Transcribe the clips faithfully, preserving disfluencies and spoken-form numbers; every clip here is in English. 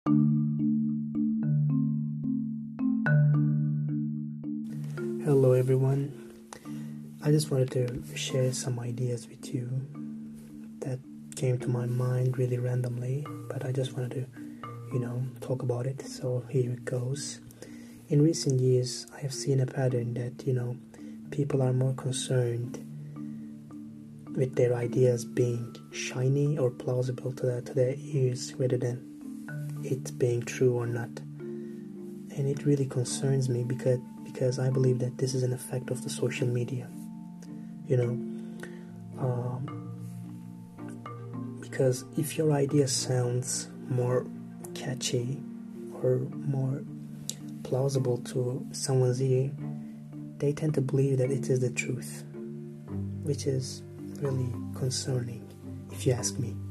Hello everyone. I just wanted to share some ideas with you that came to my mind really randomly, but I just wanted to, you know, talk about it. So here it goes. In recent years, I have seen a pattern that, you know, people are more concerned with their ideas being shiny or plausible to their, to their ears rather than it being true or not. And it really concerns me because because I believe that this is an effect of the social media, you know, um, because if your idea sounds more catchy or more plausible to someone's ear, they tend to believe that it is the truth, which is really concerning, if you ask me.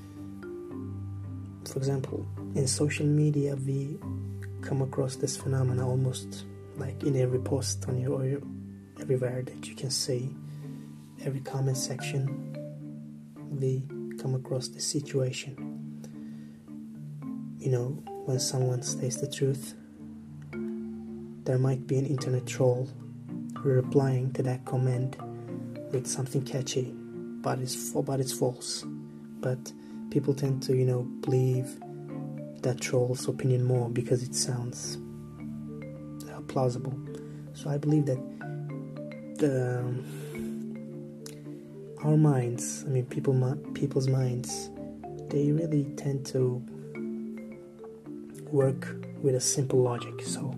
For example, in social media, we come across this phenomena almost like in every post on your, or your, everywhere that you can see, every comment section, we come across this situation. You know, when someone says the truth, there might be an internet troll replying to that comment with something catchy, but it's but it's false. But people tend to, you know, believe that troll's opinion more because it sounds uh, plausible. So I believe that the, um, our minds, I mean, people, people's minds, they really tend to work with a simple logic. So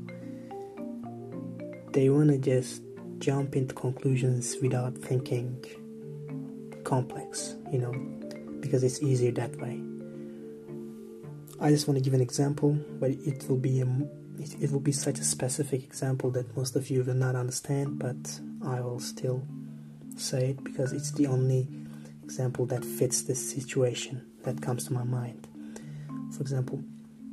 they want to just jump into conclusions without thinking complex, you know, because it's easier that way. I just want to give an example, but it will be a, it, it will be such a specific example that most of you will not understand, but I will still say it because it's the only example that fits this situation that comes to my mind. For example,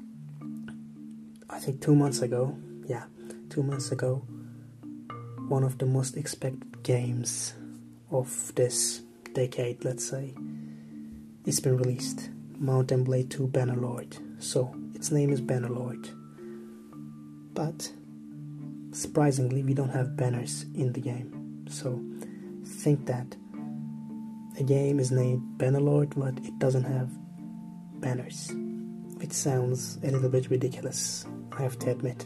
I think two months ago, yeah, two months ago, one of the most expected games of this decade, let's say, it's been released. Mount and Blade two Bannerlord. So its name is Bannerlord, but surprisingly we don't have banners in the game. So think that a game is named Bannerlord but it doesn't have banners, which sounds a little bit ridiculous, I have to admit,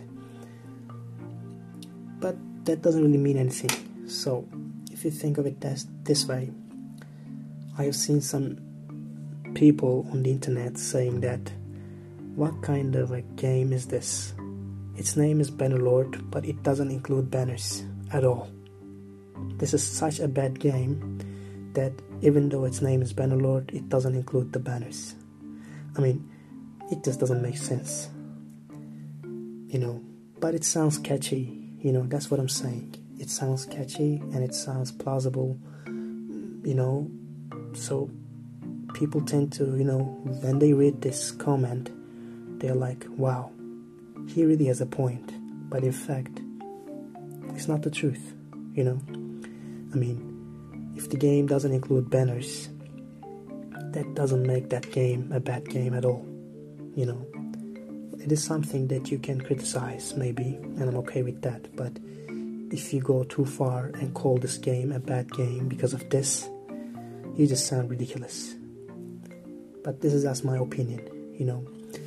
but that doesn't really mean anything. So if you think of it this, this way, I have seen some people on the internet saying that, what kind of a game is this? Its name is Bannerlord, but it doesn't include banners at all. This is such a bad game that even though its name is Bannerlord, it doesn't include the banners. I mean, it just doesn't make sense, you know, but it sounds catchy, you know, that's what I'm saying. It sounds catchy and it sounds plausible, you know, so people tend to, you know, when they read this comment, they're like, wow, he really has a point. But in fact, it's not the truth, you know. I mean, if the game doesn't include banners, that doesn't make that game a bad game at all, you know. It is something that you can criticize, maybe, and I'm okay with that. But if you go too far and call this game a bad game because of this, you just sound ridiculous. But this is just my opinion, you know.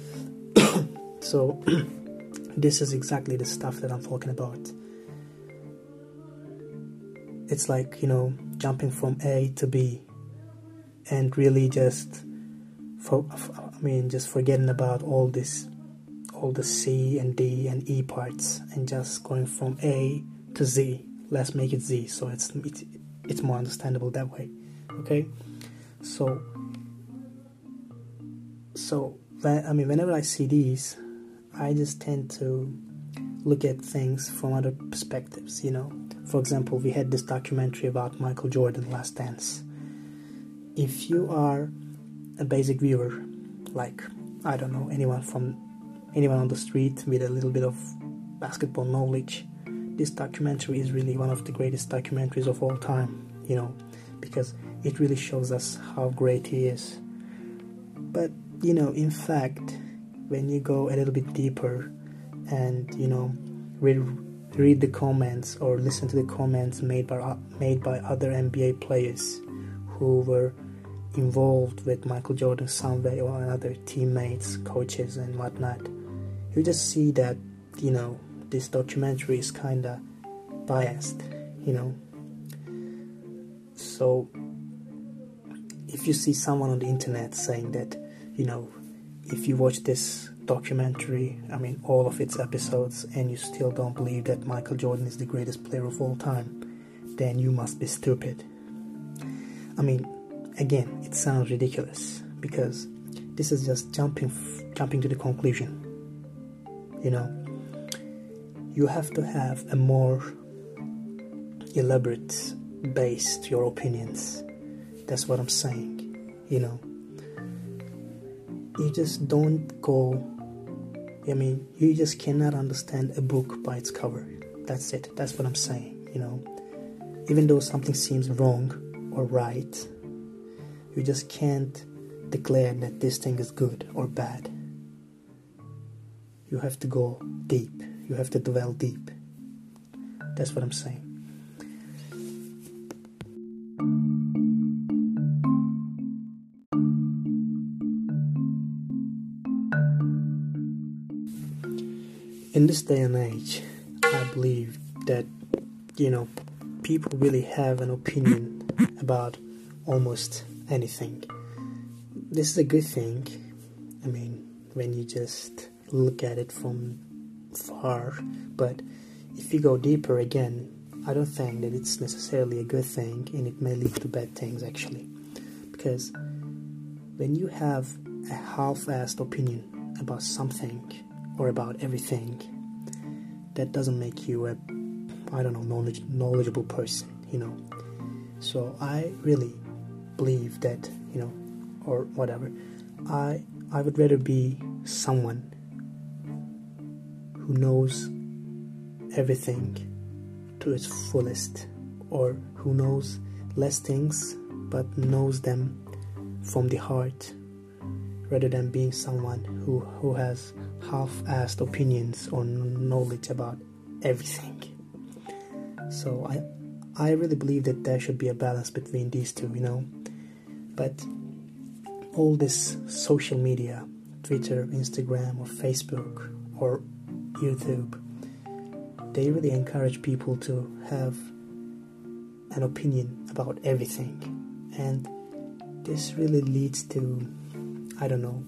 So this is exactly the stuff that I'm talking about. It's like, you know, jumping from A to B and really just for, I mean just forgetting about all this all the C and D and E parts and just going from A to Z. Let's make it Z so it's it's, it's more understandable that way. Okay? So So, I mean, whenever I see these, I just tend to look at things from other perspectives, you know. For example, we had this documentary about Michael Jordan, Last Dance. If you are a basic viewer, like, I don't know, anyone from anyone on the street with a little bit of basketball knowledge, this documentary is really one of the greatest documentaries of all time, you know, because it really shows us how great he is. But, you know, in fact, when you go a little bit deeper and, you know, read, read the comments or listen to the comments made by made by other N B A players who were involved with Michael Jordan some way or another, teammates, coaches and whatnot, you just see that, you know, this documentary is kinda biased, you know. So if you see someone on the internet saying that, you know, if you watch this documentary, I mean all of its episodes, and you still don't believe that Michael Jordan is the greatest player of all time, then you must be stupid. I mean, again, it sounds ridiculous because this is just jumping jumping to the conclusion. You know, you have to have a more elaborate base to your opinions. That's what I'm saying. You know, you just don't go, I mean, you just cannot understand a book by its cover. That's it. That's what I'm saying. You know, even though something seems wrong or right, you just can't declare that this thing is good or bad. You have to go deep. You have to dwell deep. That's what I'm saying. In this day and age, I believe that, you know, people really have an opinion about almost anything. This is a good thing. I mean, when you just look at it from far, but if you go deeper again, I don't think that it's necessarily a good thing, and it may lead to bad things actually. Because when you have a half-assed opinion about something or about everything, that doesn't make you a, I don't know, knowledge, knowledgeable person, you know. So I really believe that, you know, or whatever, I I would rather be someone who knows everything to its fullest, or who knows less things but knows them from the heart, rather than being someone who, who has half-assed opinions or knowledge about everything. So I I really believe that there should be a balance between these two, you know. But all this social media, Twitter, Instagram, or Facebook, or YouTube, they really encourage people to have an opinion about everything. And this really leads to, I don't know,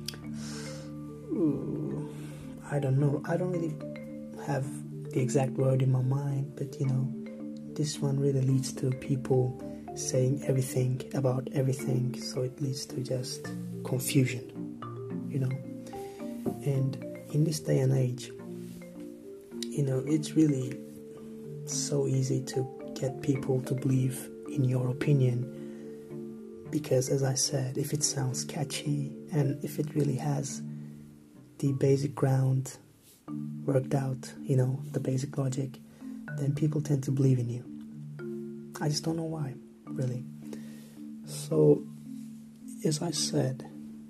I don't know, I don't really have the exact word in my mind, but you know, this one really leads to people saying everything about everything, so it leads to just confusion, you know. And in this day and age, you know, it's really so easy to get people to believe in your opinion, because as I said, if it sounds catchy and if it really has the basic ground worked out, you know, the basic logic, then people tend to believe in you. I just don't know why, really. So, as I said,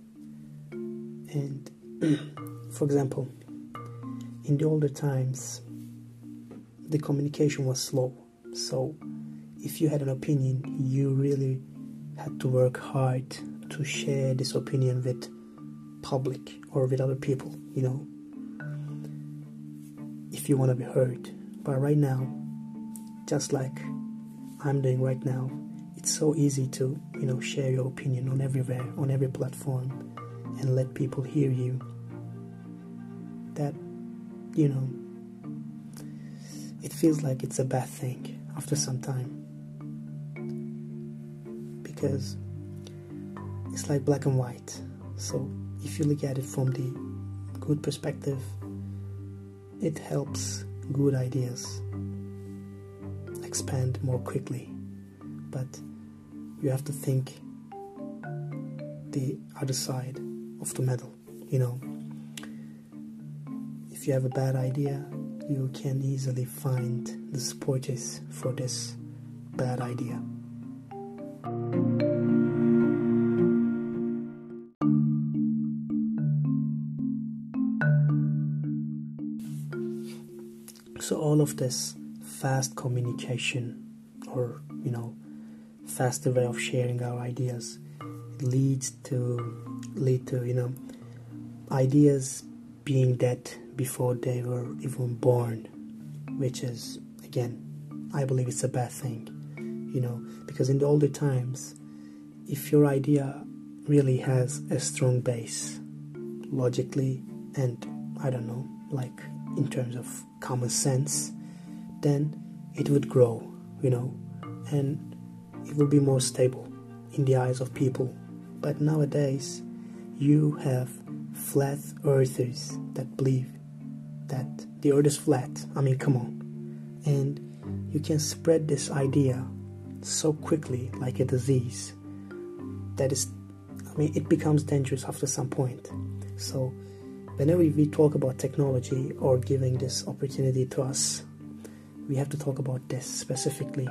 and for example, in the older times, the communication was slow. So, if you had an opinion, you really had to work hard to share this opinion with public or with other people, you know, if you want to be heard. But right now, just like I'm doing right now, it's so easy to, you know, share your opinion on everywhere, on every platform, and let people hear you, that, you know, it feels like it's a bad thing after some time, because it's like black and white. So if you look at it from the good perspective, it helps good ideas expand more quickly, but you have to think the other side of the medal, you know. If you have a bad idea, you can easily find the supporters for this bad idea. So all of this fast communication, or you know, faster way of sharing our ideas, leads to lead to you know ideas being dead before they were even born, which is, again, I believe it's a bad thing, you know, because in the older times, if your idea really has a strong base, logically, and I don't know, like in terms of common sense, then it would grow, you know, and it will be more stable in the eyes of people. But nowadays, you have flat earthers that believe that the earth is flat. I mean, come on. And you can spread this idea so quickly, like a disease, that is, I mean, it becomes dangerous after some point. So whenever we talk about technology or giving this opportunity to us, we have to talk about this specifically.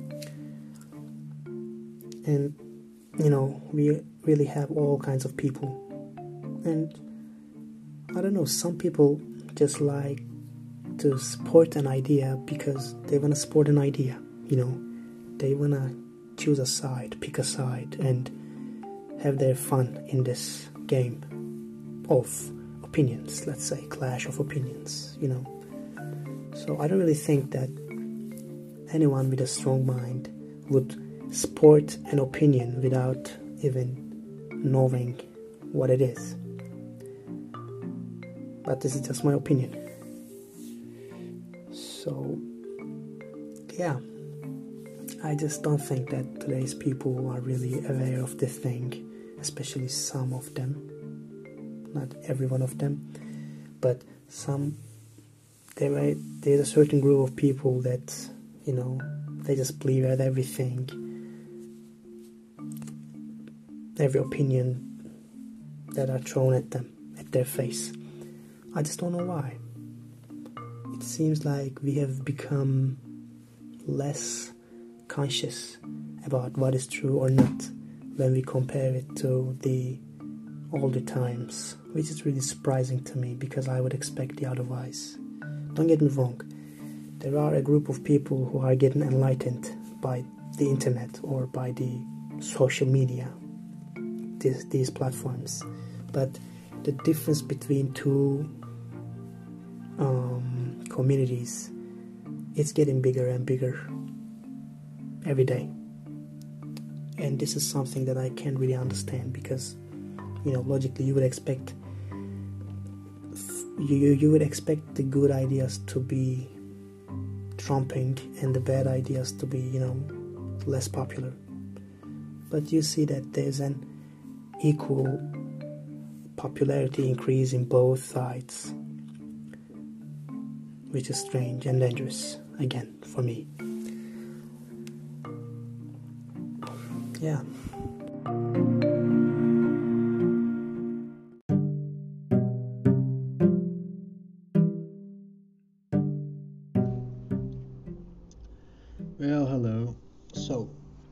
And, you know, we really have all kinds of people. And, I don't know, some people just like to support an idea because they want to support an idea, you know. They want to choose a side, pick a side, and have their fun in this game of opinions, let's say, clash of opinions, you know. So I don't really think that anyone with a strong mind would support an opinion without even knowing what it is. But this is just my opinion. So, yeah, I just don't think that today's people are really aware of this thing, especially some of them, not every one of them, but some. There, there's a certain group of people that, you know, they just believe at everything, every opinion that are thrown at them, at their face. I just don't know why. It seems like we have become less conscious about what is true or not when we compare it to the older times, which is really surprising to me because I would expect the otherwise. Don't get me wrong, there are a group of people who are getting enlightened by the internet or by the social media, these, these platforms, but the difference between two um, communities, it's getting bigger and bigger every day. And this is something that I can't really understand because, you know, logically you would expect You, you would expect the good ideas to be trumping and the bad ideas to be, you know, less popular. But you see that there's an equal popularity increase in both sides, which is strange and dangerous, again, for me. Yeah. Well, hello. So,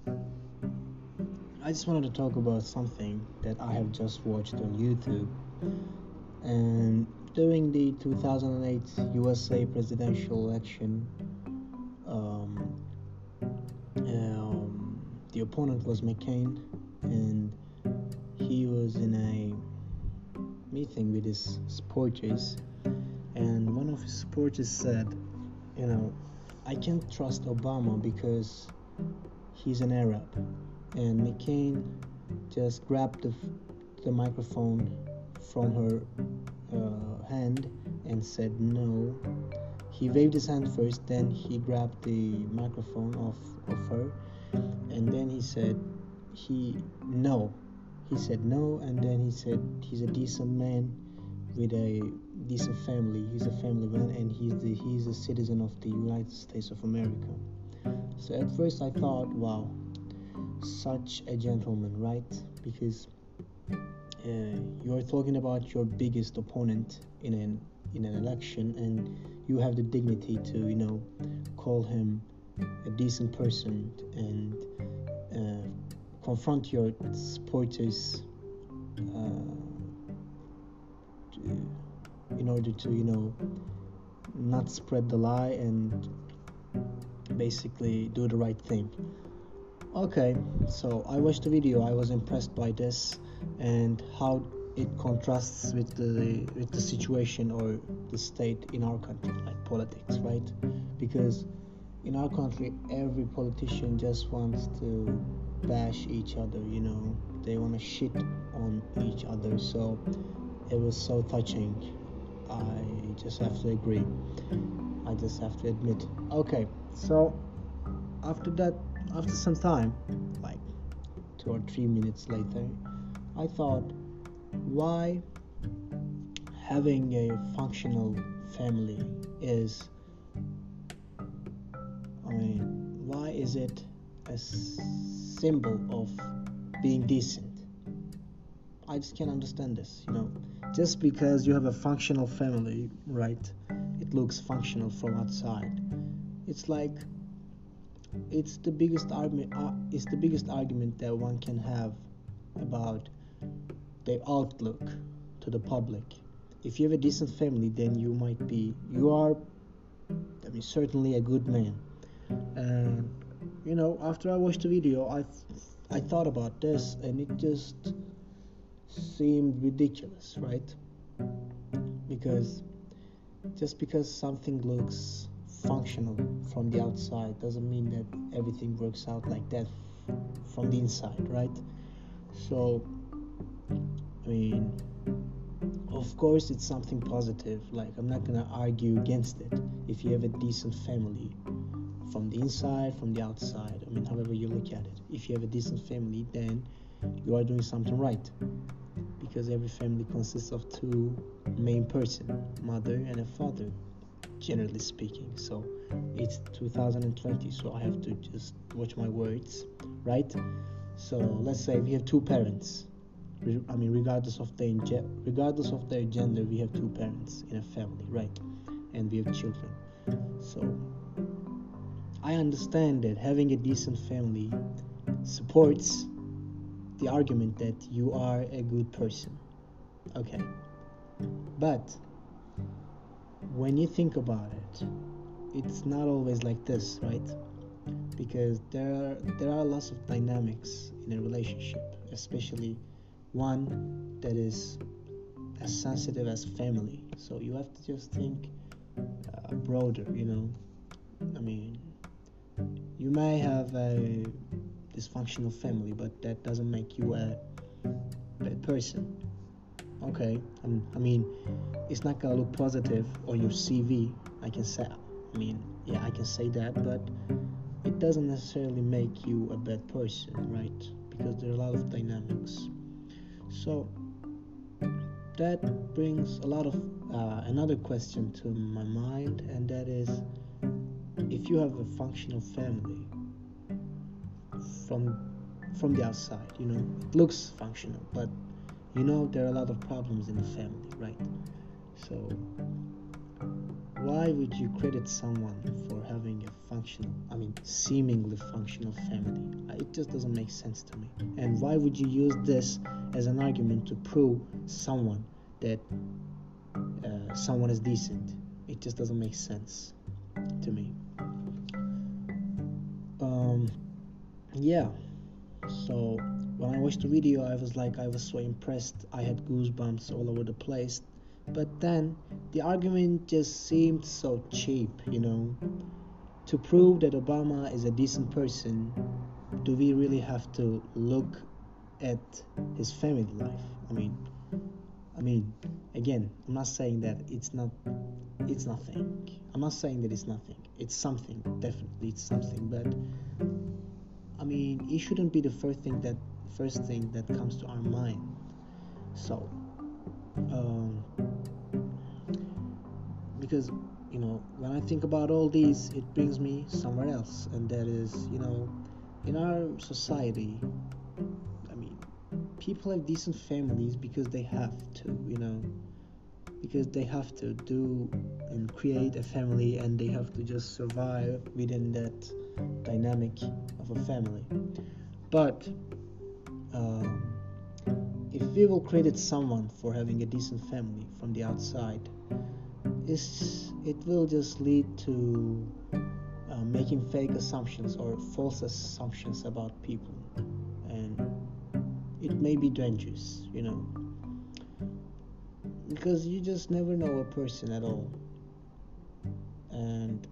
I just wanted to talk about something that I have just watched on YouTube. And during the two thousand eight U S A presidential election, um, um, the opponent was McCain, and he was in a meeting with his supporters, and one of his supporters said, you know, I can't trust Obama because he's an Arab. And McCain just grabbed the, the microphone from her uh, hand and said no. He waved his hand first, then he grabbed the microphone off of her, and then he said he no. He said no, and then he said he's a decent man with a decent family. He's a family man, and he's the he's a citizen of the United States of America. So at first I thought, wow, such a gentleman, right? Because uh, you're talking about your biggest opponent in an in an election, and you have the dignity to, you know, call him a decent person and uh, confront your supporters uh, to, in order to, you know, not spread the lie and basically do the right thing. Okay, so I watched the video. I was impressed by this and how it contrasts with the with the situation or the state in our country, like politics, right? Because in our country, every politician just wants to bash each other, you know. They want to shit on each other. So it was so touching. I just have to agree. I just have to admit. Okay, so after that, after some time, like two or three minutes later, I thought, why having a functional family is, I mean, why is it a symbol of being decent? I just can't understand this, you know. Just because you have a functional family, right, it looks functional from outside. It's like, it's the biggest argument, uh, it's the biggest argument that one can have about their outlook to the public. If you have a decent family, then you might be, you are, I mean, certainly a good man. And you know, after I watched the video, I I thought about this, and it just seemed ridiculous, right? Because just because something looks functional from the outside doesn't mean that everything works out like that from the inside, right? So, I mean, of course it's something positive. Like, I'm not gonna argue against it. If you have a decent family, from the inside, from the outside, I mean, however you look at it, if you have a decent family, then you are doing something right, because every family consists of two main persons, mother and a father, generally speaking. So it's two thousand twenty, so I have to just watch my words, right? So let's say we have two parents. I mean, regardless of their regardless of their gender, we have two parents in a family, right? And we have children. So I understand that having a decent family supports the argument that you are a good person. Okay. But when you think about it, it's not always like this, right? Because there are there are lots of dynamics in a relationship, especially one that is as sensitive as family. So you have to just think uh, broader, you know. I mean, you may have a dysfunctional family, but that doesn't make you a bad person. Okay, um, I mean, it's not gonna look positive on your C V. I can say, I mean, yeah, I can say that, but it doesn't necessarily make you a bad person, right? Because there are a lot of dynamics. So that brings a lot of uh, another question to my mind, and that is, if you have a functional family from from the outside, you know, it looks functional, but you know there are a lot of problems in the family, right? So why would you credit someone for having a functional, I mean, seemingly functional family? It just doesn't make sense to me. And why would you use this as an argument to prove someone that uh, someone is decent? It just doesn't make sense to me. Um, yeah. So when I watched the video, I was like, I was so impressed. I had goosebumps all over the place. But then the argument just seemed so cheap, you know. To prove that Obama is a decent person, do we really have to look at his family life? I mean, I mean, again, I'm not saying that it's not, it's nothing. I'm not saying that it's nothing. It's something, definitely, it's something. But I mean, it shouldn't be the first thing that, first thing that comes to our mind. So, um, because, you know, when I think about all these, it brings me somewhere else, and that is, you know, in our society, I mean, people have decent families because they have to, you know, because they have to do and create a family, and they have to just survive within that dynamic of a family. But um, if we will credit someone for having a decent family from the outside, it's, it will just lead to uh, making fake assumptions or false assumptions about people, and it may be dangerous, you know, because you just never know a person at all. And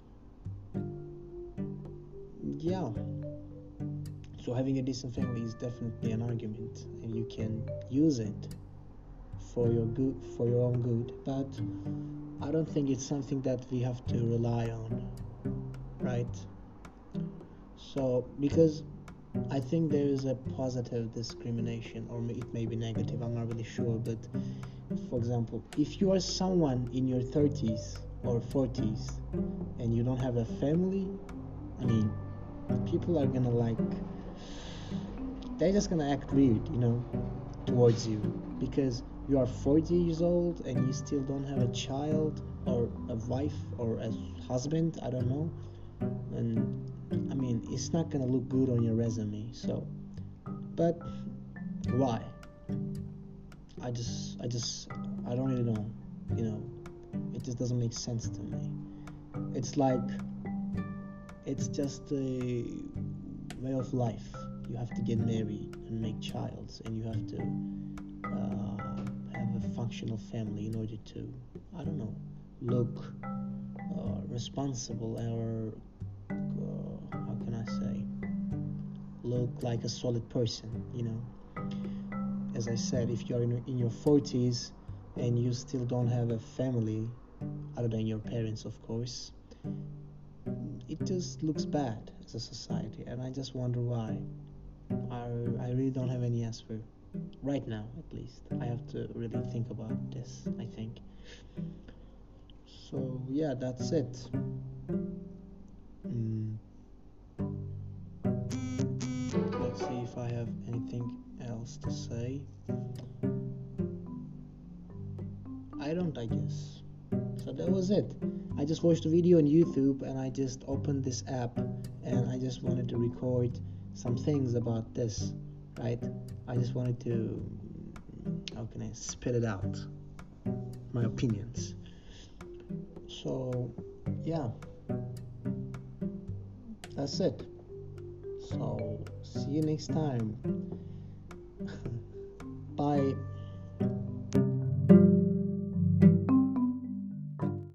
yeah, so having a decent family is definitely an argument, and you can use it for your good, for your own good, but I don't think it's something that we have to rely on, right? So because I think there is a positive discrimination, or it may be negative, I'm not really sure, but for example, if you are someone in your thirties or forties and you don't have a family, I mean, people are gonna like, they're just gonna act weird, you know, towards you, because you are forty years old and you still don't have a child or a wife or a husband, I don't know. And I mean, it's not gonna look good on your resume. So, but why? I just, I just, I don't really know. You know, it just doesn't make sense to me. It's like, it's just a way of life. You have to get married and make childs, and you have to uh, have a functional family in order to, I don't know, look uh, responsible, or uh, how can I say, look like a solid person, you know. As I said, if you're in, in your forties and you still don't have a family, other than your parents, of course, it just looks bad as a society, and I just wonder why. I, I really don't have any answer right now, at least. I have to really think about this, I think. So yeah, that's it. Mm. Let's see if I have anything else to say. I don't, I guess. So that was it. I just watched a video on YouTube, and I just opened this app, and I just wanted to record some things about this, right? I just wanted to, how can I spit it out, my opinions. So yeah, that's it. So see you next time. Bye.